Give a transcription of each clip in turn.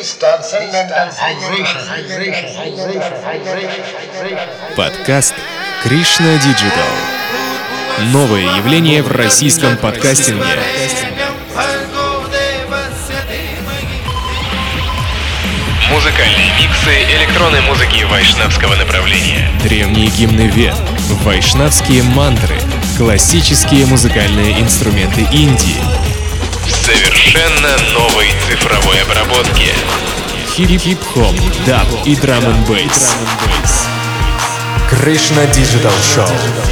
Подкаст Krishna Digital. Новое явление в российском подкастинге. Музыкальные миксы электронной музыки вайшнавского направления. Древние гимны Вед, вайшнавские мантры, классические музыкальные инструменты Индии. В совершенно новой цифровой обработке. Хип-хоп, даб и драм-н-бейс. Krishna Digital Show.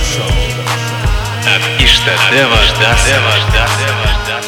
От Иштадева Даса.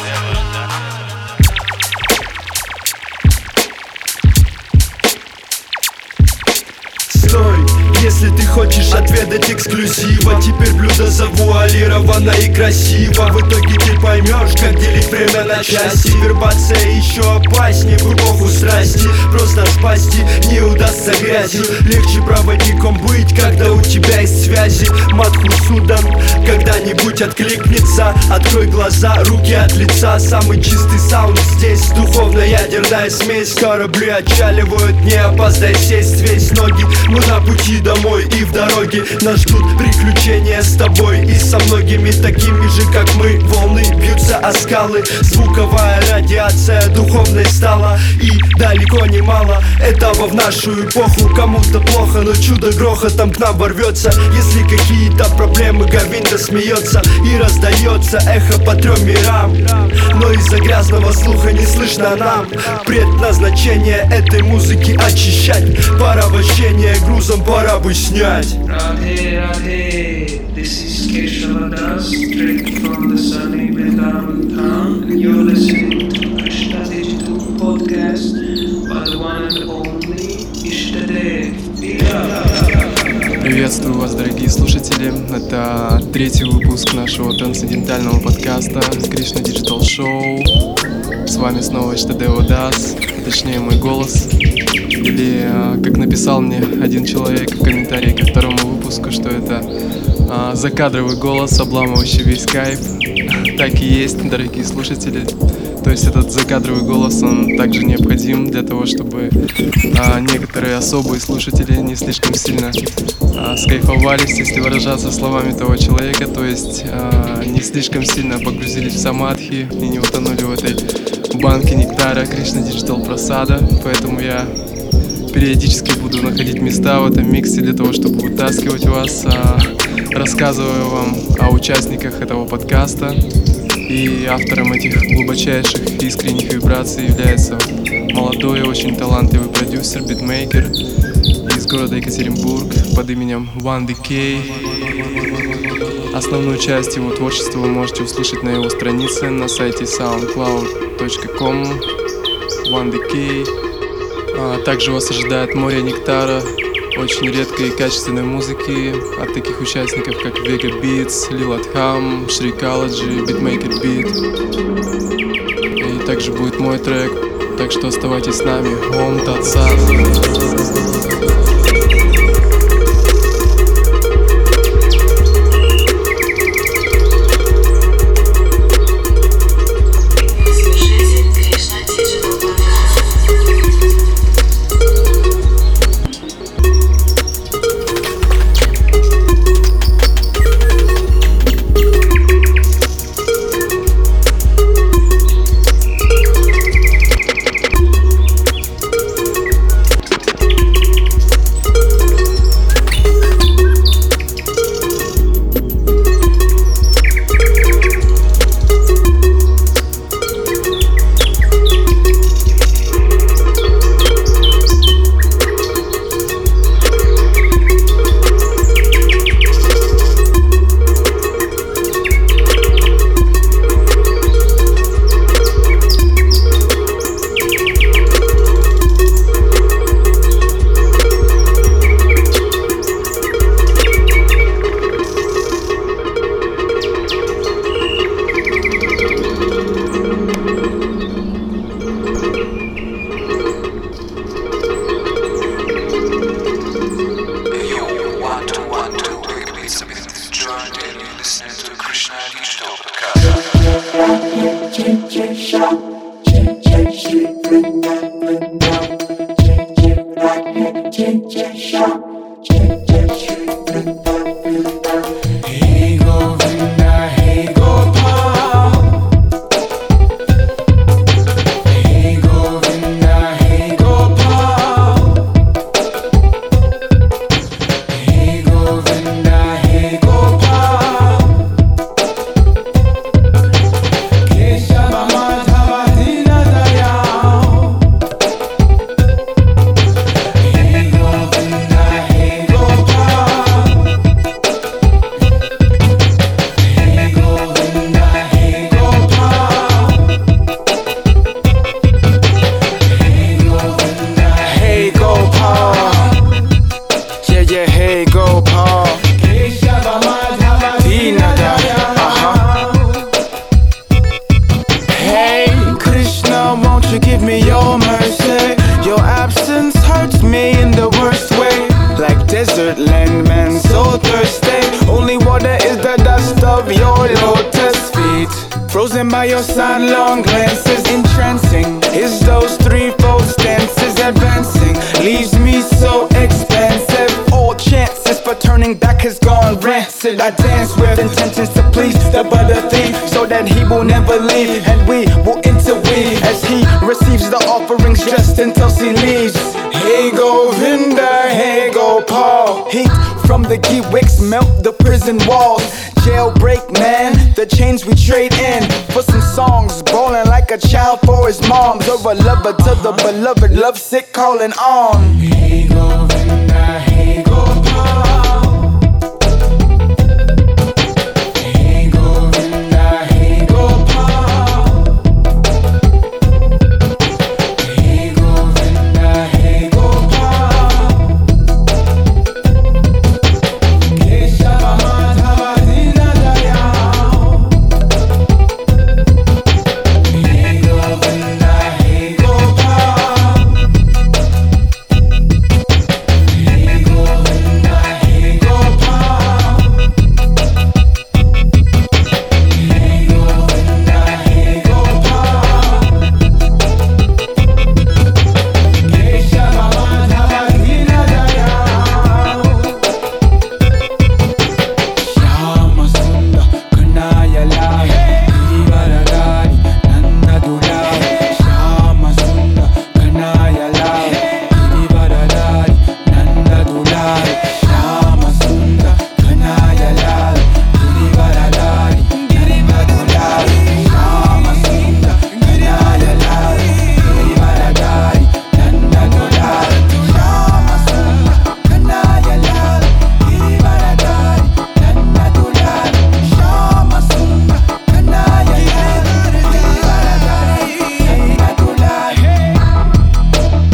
Если ты хочешь отведать эксклюзива, теперь блюдо завуалировано и красиво. В итоге ты поймешь, как делить время на части. Вербация еще опаснее в эпоху страсти. Просто в пасти не удастся грязью. Легче проводником быть, когда у тебя есть связи. Мадхусудан когда-нибудь откликнется. Открой глаза, руки от лица. Самый чистый саунд здесь. Духовно-ядерная смесь. Корабли отчаливают, не опоздай сесть. Весь ноги, мы на пути домой и в дороге нас ждут приключения с тобой и со многими такими же, как мы. Волны бьются о скалы, звуковая радиация духовной стала. И далеко не мало этого в нашу эпоху. Кому-то плохо, но чудо грохотом к нам ворвется. Если какие-то проблемы, Говинда смеется и раздается эхо по 3 мирам. Но из-за грязного слуха не слышно нам. Предназначение этой музыки очищать. Порабощение грузом пора бы снять. Radhe Radhe, this is Keshala Das, straight from the sunny Vrindavan town, and you're listening to Krishna Digital Podcast by the one and only Ishtadev. Приветствую вас, дорогие слушатели. Это 3-й выпуск нашего трансцендентального подкаста Krishna Digital Show. С вами снова Иштадева Дас, точнее мой голос. Или, как написал мне один человек в комментарии ко 2-му выпуску, что это закадровый голос, обламывающий весь кайф. Так и есть, дорогие слушатели. То есть этот закадровый голос, он также необходим для того, чтобы некоторые особые слушатели не слишком сильно скайфовались, если выражаться словами того человека, то есть не слишком сильно погрузились в самадхи и не утонули в этой банке нектара Krishna Digital Prasada. Поэтому я периодически буду находить места в этом миксе для того, чтобы вытаскивать вас, рассказывая вам о участниках этого подкаста. И автором этих глубочайших искренних вибраций является молодой и очень талантливый продюсер, битмейкер из города Екатеринбург под именем One DK. Основную часть его творчества вы можете услышать на его странице на сайте soundcloud.com One DK. Также вас ожидает море нектара, очень редкой и качественной музыки от таких участников, как Vega Beats, Lil Adham, Shrikology, Beatmaker Beat. И также будет мой трек, так что оставайтесь с нами. Ом Тат Сат. desert land, man, so thirsty. Only water is the dust of your lotus feet. Frozen by your sidelong glances, entrancing. Is those threefold stances advancing? Leaves me so expansive. All chances for turning back has gone rancid. I dance with intentions to please the butter thief, so that he will never leave, and we will interweave as he receives the offerings just until he leaves. Hey Govinda, hey Gopal. Heat from the ghee wicks melt the prison walls. Jailbreak, man, the chains we trade in for some songs, bawling like a child for his moms, or a lover to the beloved, lovesick calling on. Hey Govinda, hey Gopal. Hey Govinda, hey Gopal. Hey Govinda, hey Gopal. Keshava Madhava Dina Dayal. Hey Govinda, hey Gopal. Hey Govinda, hey Gopal. Hey Govinda, hey Gopal. Keshava Madhava Dina Dayal. Shyama Sundar Kanaya Lal, Girivaradari Nanda Dulal. Shyama Sundar Kanaya Lal, Girivaradari Nanda Dulal. Shyama Sundar Kanaya Lal, Girivaradari Nanda Dulal. Shyama Sundar Kanaya Lal, Girivaradari Nanda Dulal. Shyama Sundar Kanaya Lal, Girivaradari Nanda Dulal. Shyama Sundar Kanaya Lal, Girivaradari Nanda Dulal.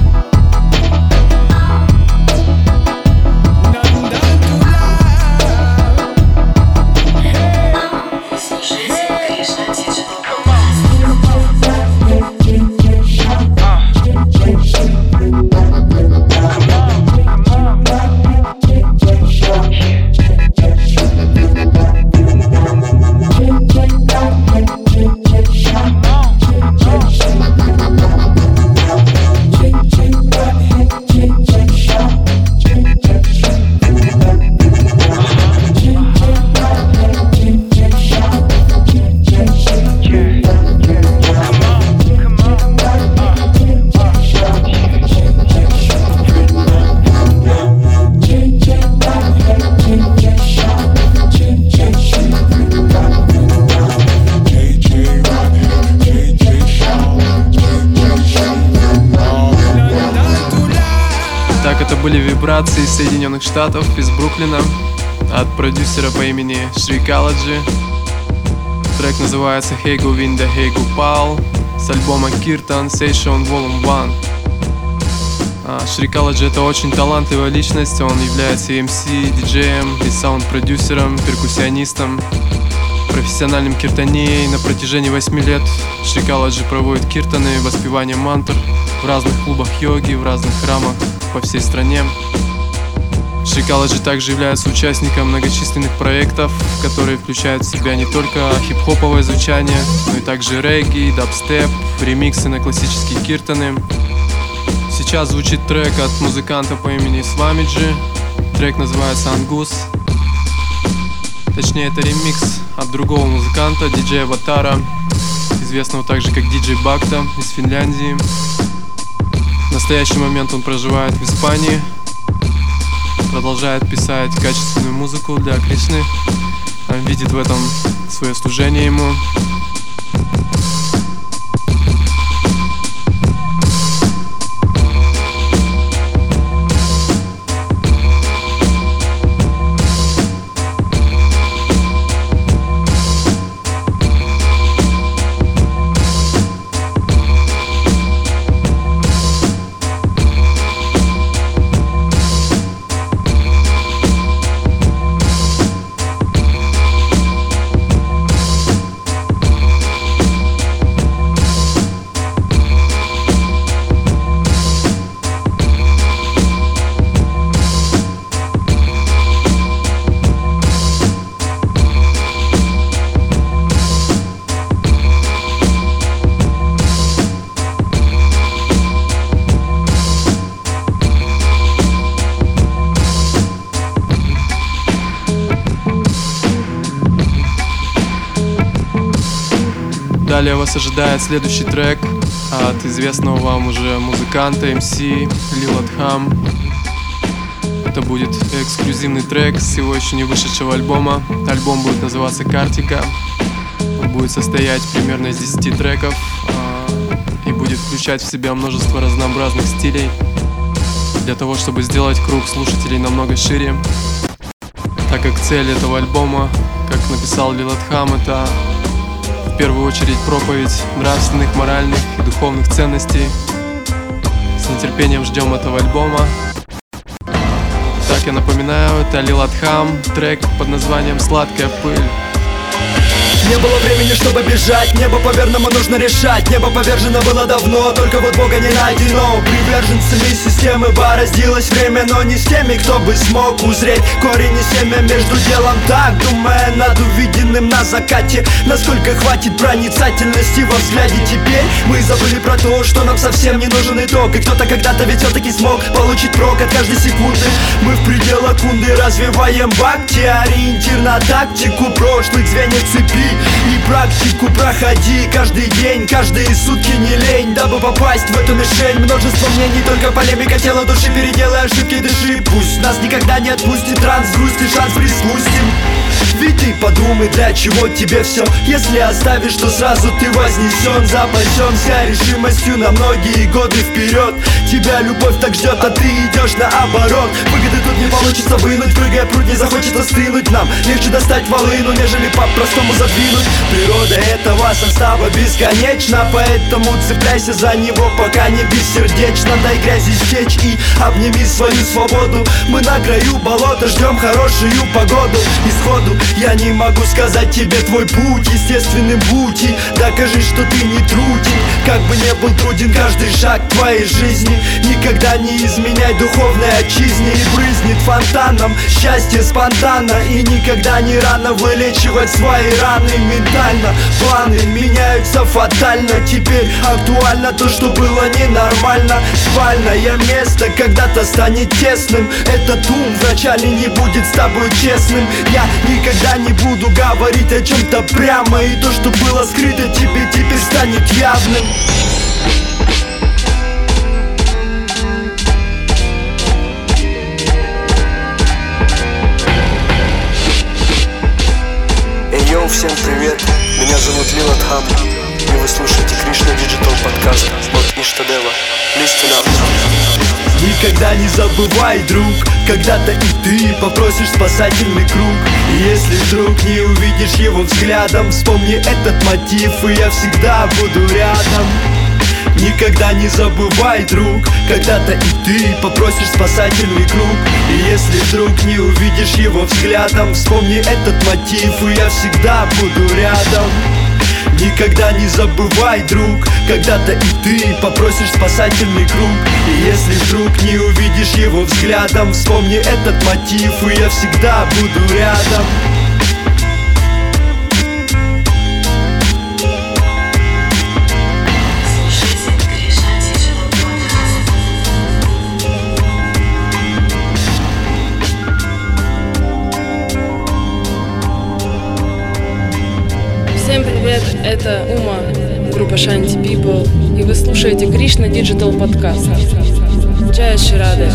Так, это были вибрации из Соединенных Штатов, из Бруклина, от продюсера по имени Shrikalaji. Трек называется Hey Govinda, Hey Gopal с альбома Kirtan Session Volume 1. Shrikalaji — это очень талантливая личность, он является и MC, диджеем, и саунд-продюсером, перкуссионистом, профессиональным киртанеей. На протяжении 8 лет Shrikalaji проводит киртаны, воспевание мантр в разных клубах йоги, в разных храмах по всей стране. Shrikalaji также является участником многочисленных проектов, которые включают в себя не только хип-хоповое звучание, но и также регги, дабстеп, ремиксы на классические киртаны. Сейчас звучит трек от музыканта по имени Swamiji. Трек называется Angus. Точнее, это ремикс от другого музыканта, диджея Ватара, известного также как диджей Бакта из Финляндии. В настоящий момент он проживает в Испании, продолжает писать качественную музыку для Кришны, видит в этом свое служение ему. Далее вас ожидает следующий трек от известного вам уже музыканта MC Lil Adham. Это будет эксклюзивный трек с его еще не вышедшего альбома. Альбом будет называться «Картика». Он будет состоять примерно из 10 треков и будет включать в себя множество разнообразных стилей для того, чтобы сделать круг слушателей намного шире. Так как цель этого альбома, как написал Lil Adham, это в первую очередь проповедь нравственных, моральных и духовных ценностей. С нетерпением ждем этого альбома. Так, я напоминаю, это Lil Adham, трек под названием «Сладкая пыль». Не было времени, чтобы бежать, небо по-верному нужно решать. Небо повержено было давно, только вот Бога не найдено. Приверженцами системы бороздилось время, но не с теми, кто бы смог узреть корень и семя между делом. Так, думая над увиденным на закате, насколько хватит проницательности во взгляде. Теперь мы забыли про то, что нам совсем не нужен итог. И кто-то когда-то ведь все-таки смог получить прок от каждой секунды. Мы в пределах кунды развиваем бхакти, ориентир на тактику прошлых звеньев цепи. И практику проходи каждый день, каждые сутки не лень, дабы попасть в эту мишень. Множество мнений, только полемика тела души. Переделай ошибки, дыши, пусть нас никогда не отпустит транс, грусть и шанс приспустим. Ведь ты подумай, для чего тебе все, если оставишь, то сразу ты вознесен. Запасенся решимостью на многие годы вперед. Тебя любовь так ждет, а ты идешь наоборот. Выгоды тут не получится вынуть, прыгая пруд не захочется стынуть. Нам легче достать волыну, нежели по-простому задвинуть. Природа этого состава бесконечна, поэтому цепляйся за него, пока не бессердечно. Дай грязи стечь и обними свою свободу. Мы на краю болота, ждем хорошую погоду. Исходу я не могу сказать тебе твой путь естественным будь и докажи, что ты не труден. Как бы не был труден каждый шаг твоей жизни, никогда не изменяй духовной отчизне. И брызнет фонтаном счастье спонтанно, и никогда не рано вылечивать свои раны ментально. Планы меняются фатально, теперь актуально то, что было ненормально. Спальное место когда-то станет тесным. Этот ум вначале не будет с тобой честным. Я никогда не буду говорить о чем-то прямо, и то, что было скрыто тебе, теперь станет явным. Йоу, всем привет, меня зовут Lil Adham, и вы слушаете Krishna Digital подкаст от Иштадева. Listen up. Никогда не забывай, друг, когда-то и ты попросишь спасательный круг. И если вдруг не увидишь его взглядом, вспомни этот мотив, и я всегда буду рядом. Никогда не забывай, друг, когда-то и ты попросишь спасательный круг. И если вдруг не увидишь его взглядом, вспомни этот мотив, и я всегда буду рядом. Никогда не забывай, друг, когда-то и ты попросишь спасательный круг. И если вдруг не увидишь его взглядом, вспомни этот мотив, и я всегда буду рядом. Всем привет, это Ума, группа Shanty People, и вы слушаете Krishna Digital подкаст. Джая Ширады.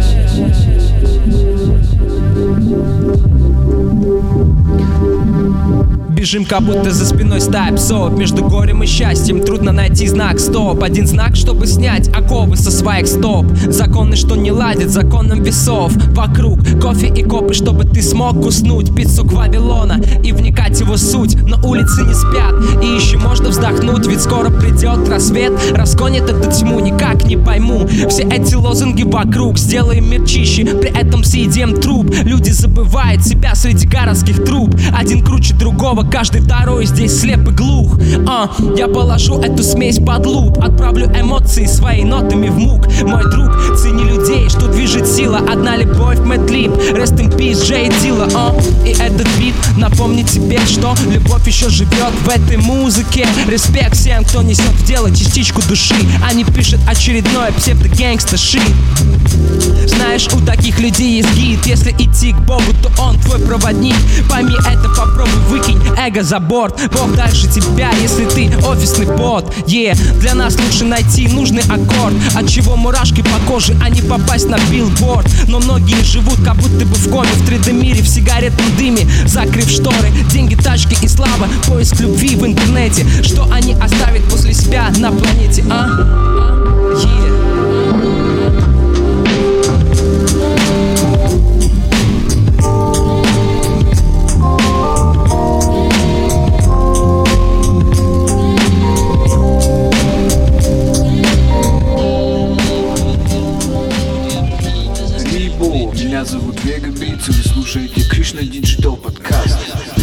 Бежим, как будто за спиной стая псов. Между горем и счастьем трудно найти знак стоп. Один знак, чтобы снять оковы со своих стоп. Законы, что не ладят законом весов. Вокруг кофе и копы, чтобы ты смог уснуть. Пиццу Вавилона и вникать в его суть. Но улицы не спят, и еще можно вздохнуть. Ведь скоро придет рассвет, разгонит эту тьму. Никак не пойму все эти лозунги вокруг. Сделаем мир чище, при этом съедим труп. Люди забывают себя среди городских труб. Один круче другого, каждый второй здесь слеп и глух. Я положу эту смесь под луп. Отправлю эмоции свои нотами в мук. Мой друг, цени людей, что движет сила. Одна любовь, Mad Lib, Rest in Peace, Джей Дилла. И этот бит Напомни тебе, что любовь еще живет в этой музыке. Респект всем, кто несет в дело частичку души, а не пишет очередное псевдо-гэнгста-шит. Знаешь, у таких людей есть гид. Если идти к Богу, то он твой проводник. Пойми это, попробуй выкинь эго за борт. Бог дальше тебя, если ты офисный бот. Для нас лучше найти нужный аккорд, от чего мурашки по коже, а не попасть на билборд. Но многие живут как будто бы в коме, в 3D мире, в сигаретном дыме, закрыв шторы. Деньги, тачки и слава, поиск любви в интернете. Что они оставят после себя на планете, Меня зовут Вега Битс, и вы слушаете Кришна Диджитал подкаст.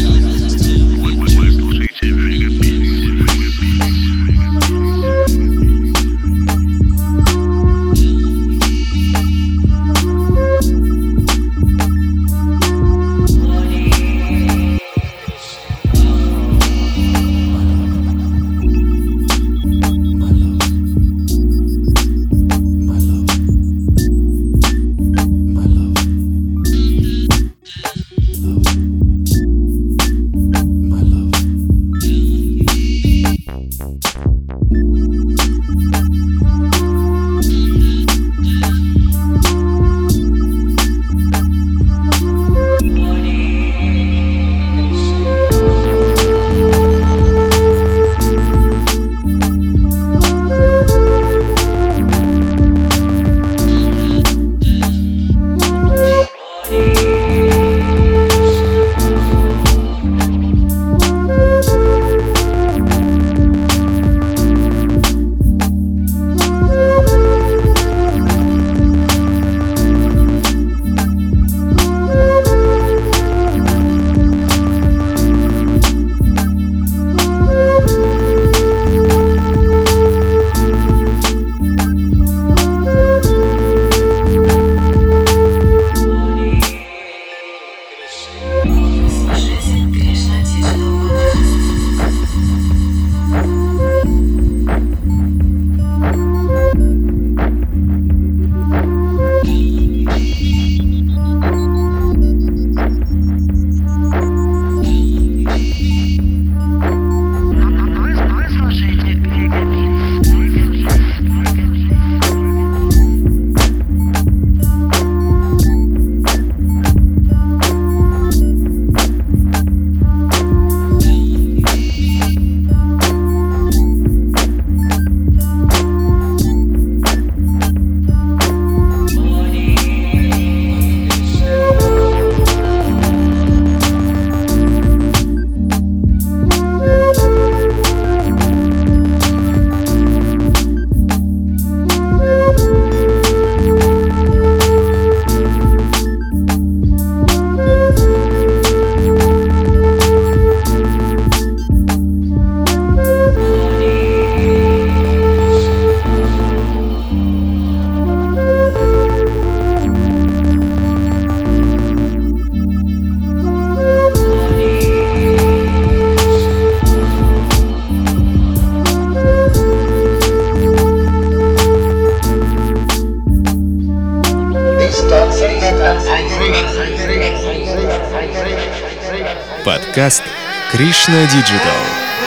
Подкаст Кришна Диджитал.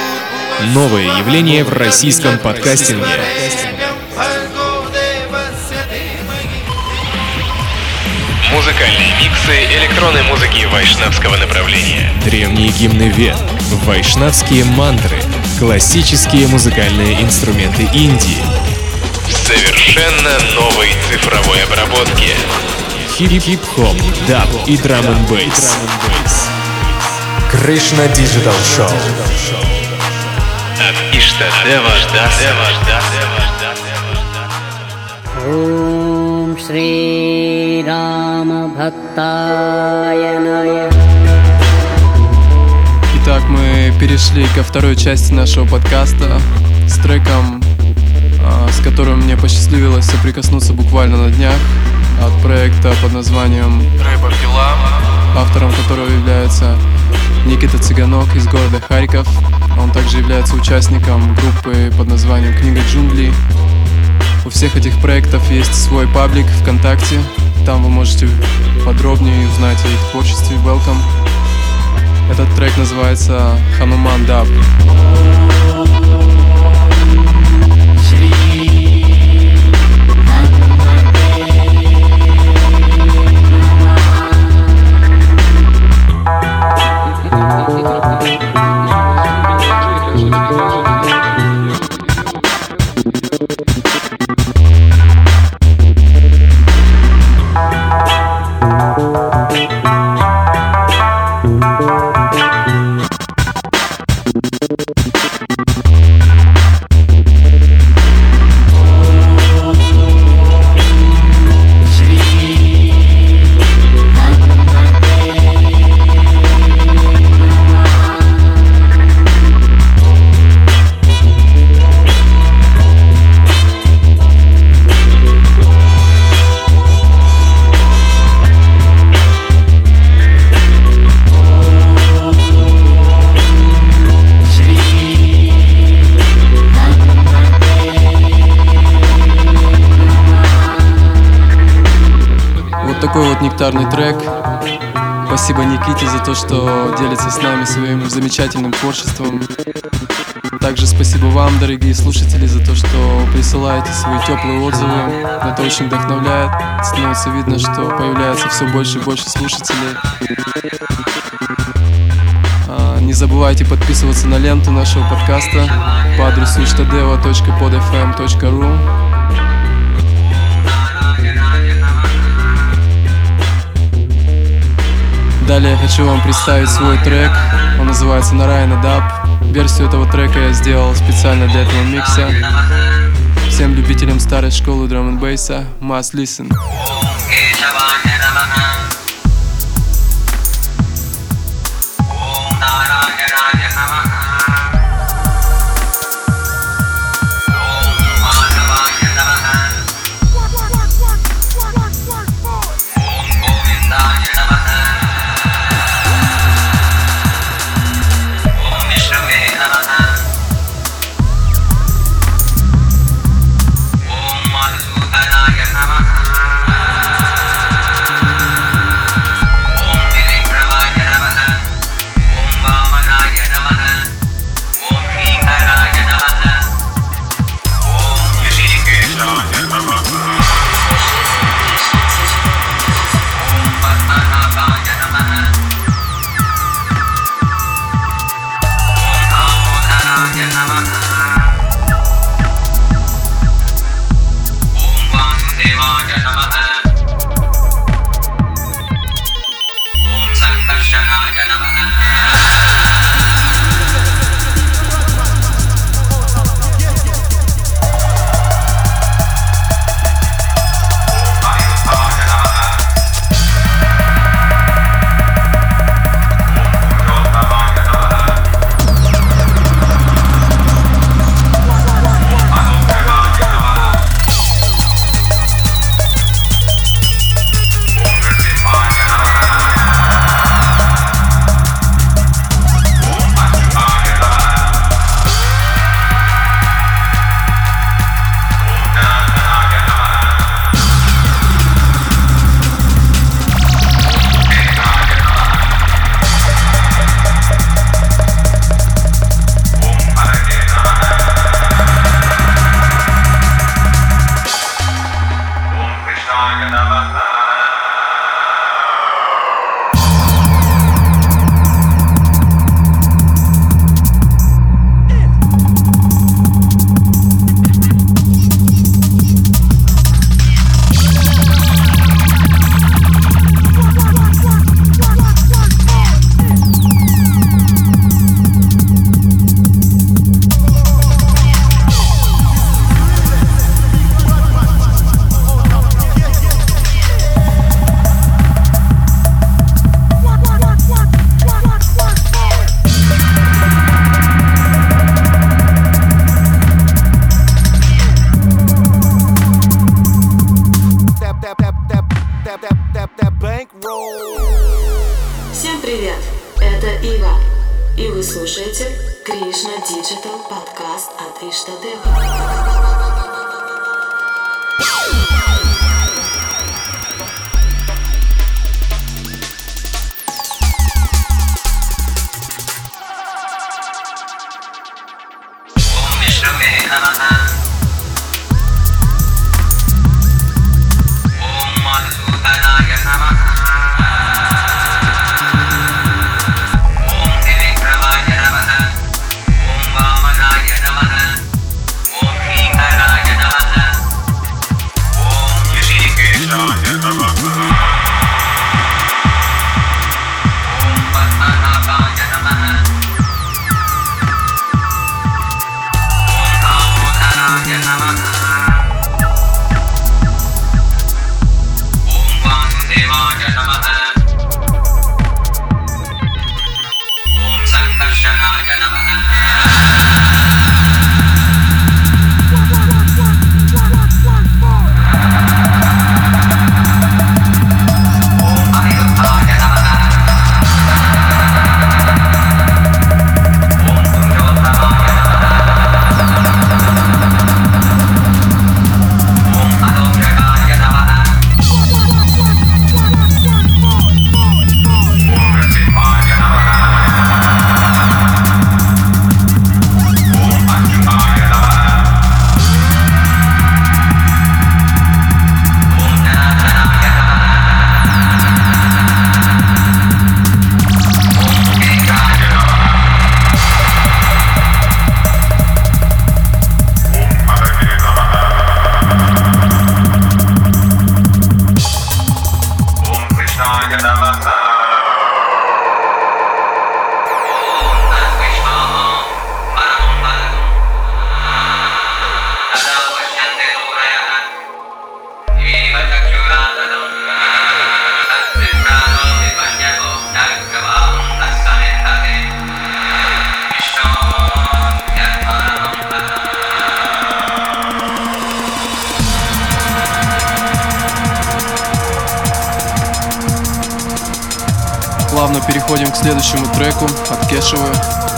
Новое явление в российском подкастинге. Музыкальные миксы электронной музыки вайшнавского направления. Древние гимны Вед, вайшнавские мантры, классические музыкальные инструменты Индии. В совершенно новой цифровой обработке. Хип-хоп, даб и драм-н-бейс. Кришна Диджитал Шоу. От Иштадева Ом Шри Рама Бхактая Ная. Итак, мы перешли ко второй части нашего подкаста с треком, с которым мне посчастливилось соприкоснуться буквально на днях, от проекта под названием «Рэпер Дела», автором которого является Никита Цыганок из города Харьков. Он также является участником группы под названием «Книга джунглей». У всех этих проектов есть свой паблик ВКонтакте. Там вы можете подробнее узнать о их творчестве. Welcome. Этот трек называется «Хануман Даб». Такой вот нектарный трек. Спасибо Никите за то, что делится с нами своим замечательным творчеством. Также спасибо вам, дорогие слушатели, за то, что присылаете свои теплые отзывы. Это очень вдохновляет. Становится видно, что появляется все больше и больше слушателей. Не забывайте подписываться на ленту нашего подкаста по адресу ishtadeva.podfm.ru. Далее я хочу вам представить свой трек. Он называется «Нараяна Даб». Версию этого трека я сделал специально для этого микса. Всем любителям старой школы драм-н-бейса must listen. Это Ива, и вы слушаете Кришна Digital подкаст от Иштадева. Плавно переходим к следующему треку от Кешевы.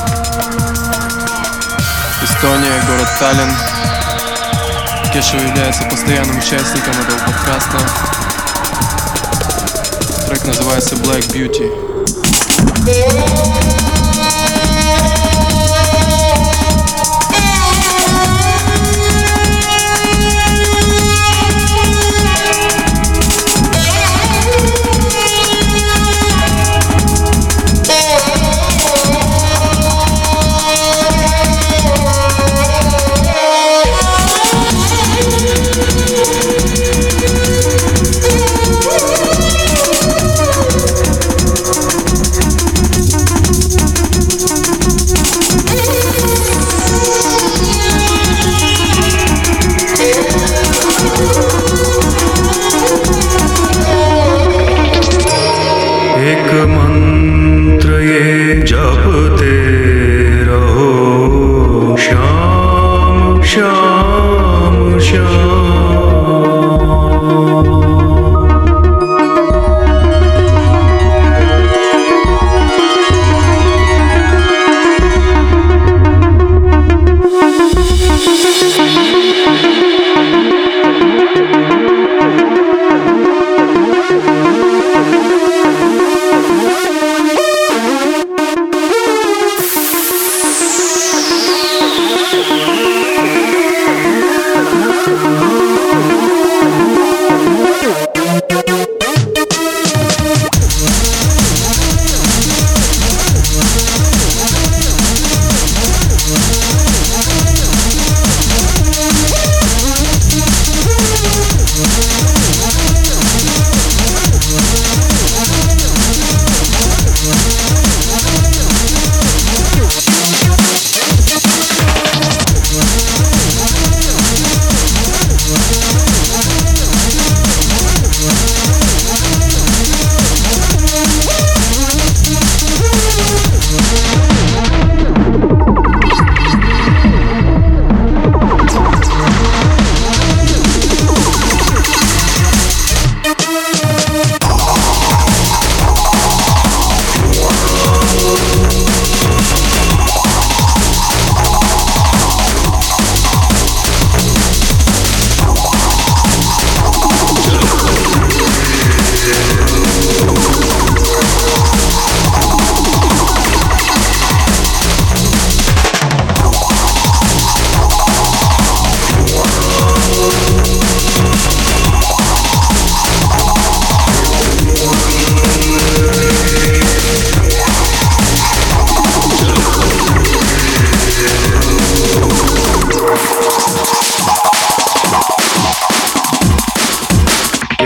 Эстония, город Таллин. Кешева является постоянным участником этого подкаста. Трек называется Black Beauty.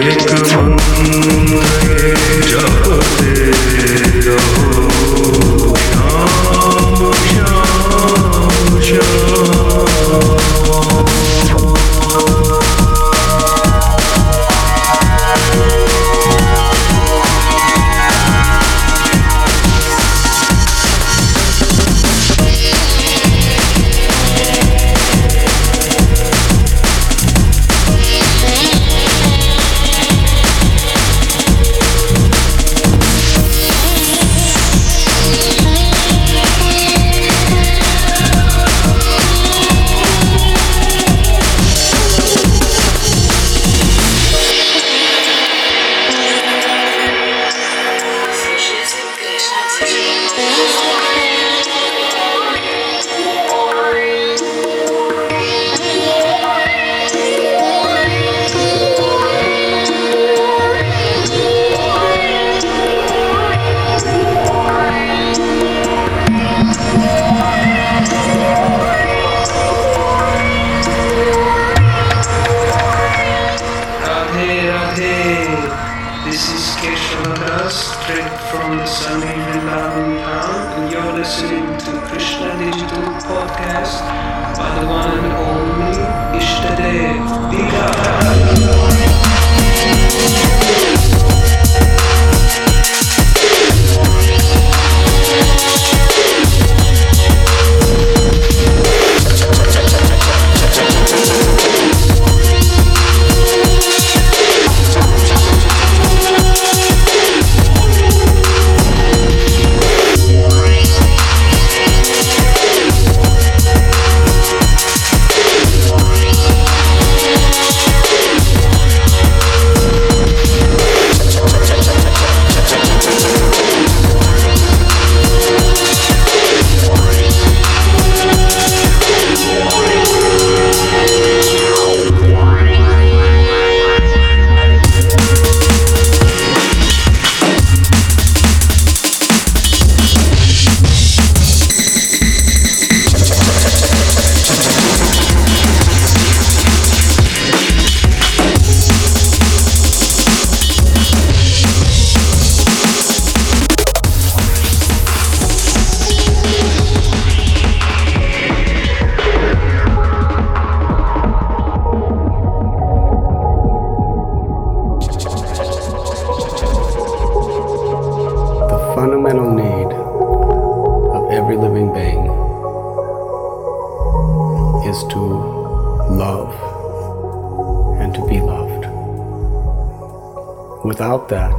Without that,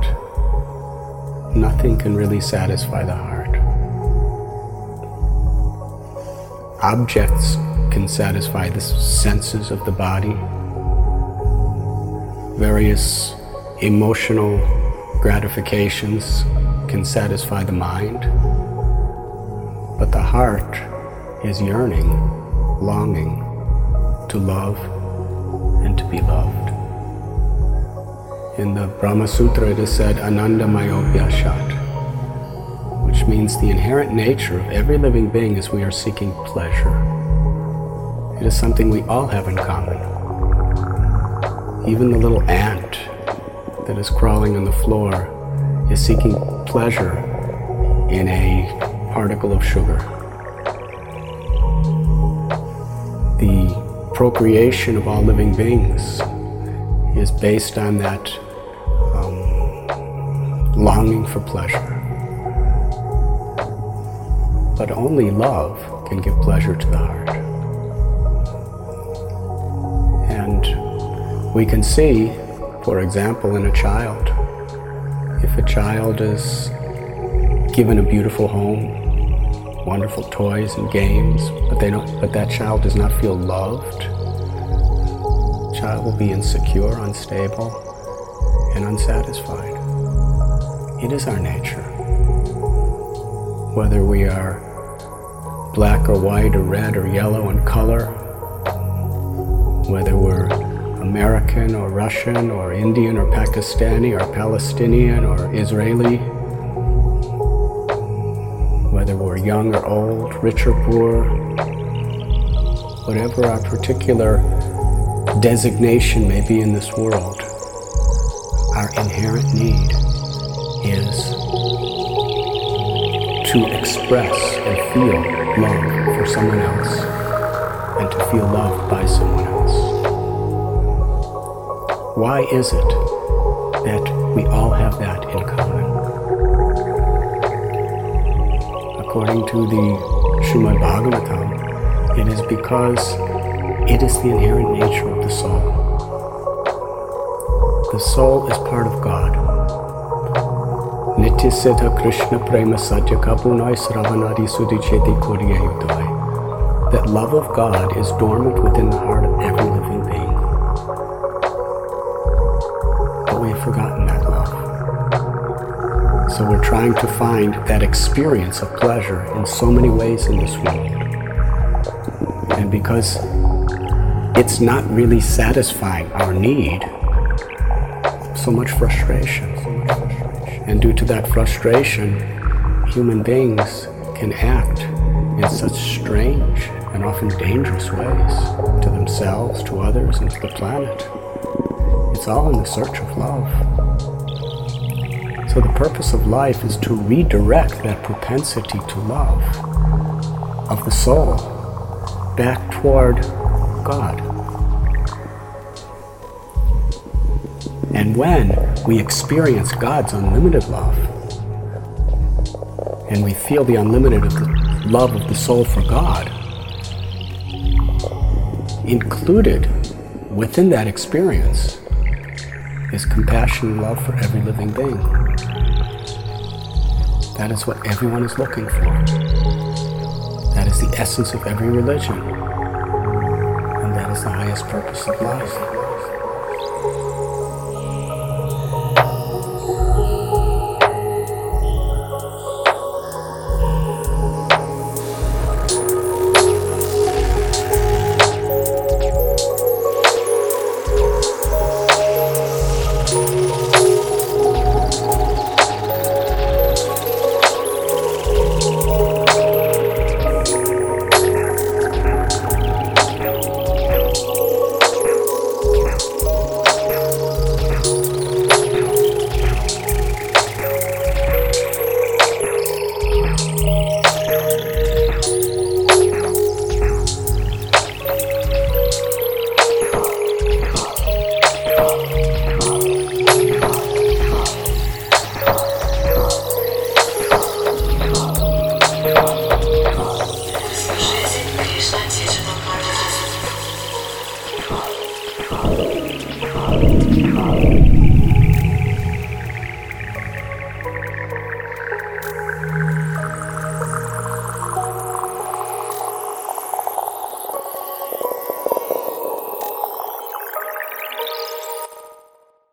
nothing can really satisfy the heart. Objects can satisfy the senses of the body. Various emotional gratifications can satisfy the mind. But the heart is yearning, longing to love and to be loved. In the Brahma Sutra it is said, Anandamayopyashat, which means the inherent nature of every living being is we are seeking pleasure. It is something we all have in common. Even the little ant that is crawling on the floor is seeking pleasure in a particle of sugar. The procreation of all living beings is based on that longing for pleasure. But only love can give pleasure to the heart. And we can see, for example, in a child, if a child is given a beautiful home, wonderful toys and games, but that child does not feel loved, the child will be insecure, unstable, and unsatisfied. It is our nature. Whether we are black or white or red or yellow in color, whether we're American or Russian or Indian or Pakistani or Palestinian or Israeli, whether we're young or old, rich or poor, whatever our particular designation may be in this world, our inherent need is to express and feel love for someone else and to feel loved by someone else. Why is it that we all have that in common? According to the Srimad Bhagavatam, it is because it is the inherent nature of the soul. The soul is part of God. Nitya Siddha Krishna Prema Satya Kapunai Sravanadi Sudicheti Kuriyayudai. That love of God is dormant within the heart of every living being. But we have forgotten that love. So we're trying to find that experience of pleasure in so many ways in this world. And because it's not really satisfying our need, so much frustration. And due to that frustration, human beings can act in such strange and often dangerous ways to themselves, to others, and to the planet. It's all in the search of love. So the purpose of life is to redirect that propensity to love of the soul back toward God. And when we experience God's unlimited love, and we feel the unlimited love of the soul for God, included within that experience is compassion and love for every living being. That is what everyone is looking for. That is the essence of every religion. And that is the highest purpose of life.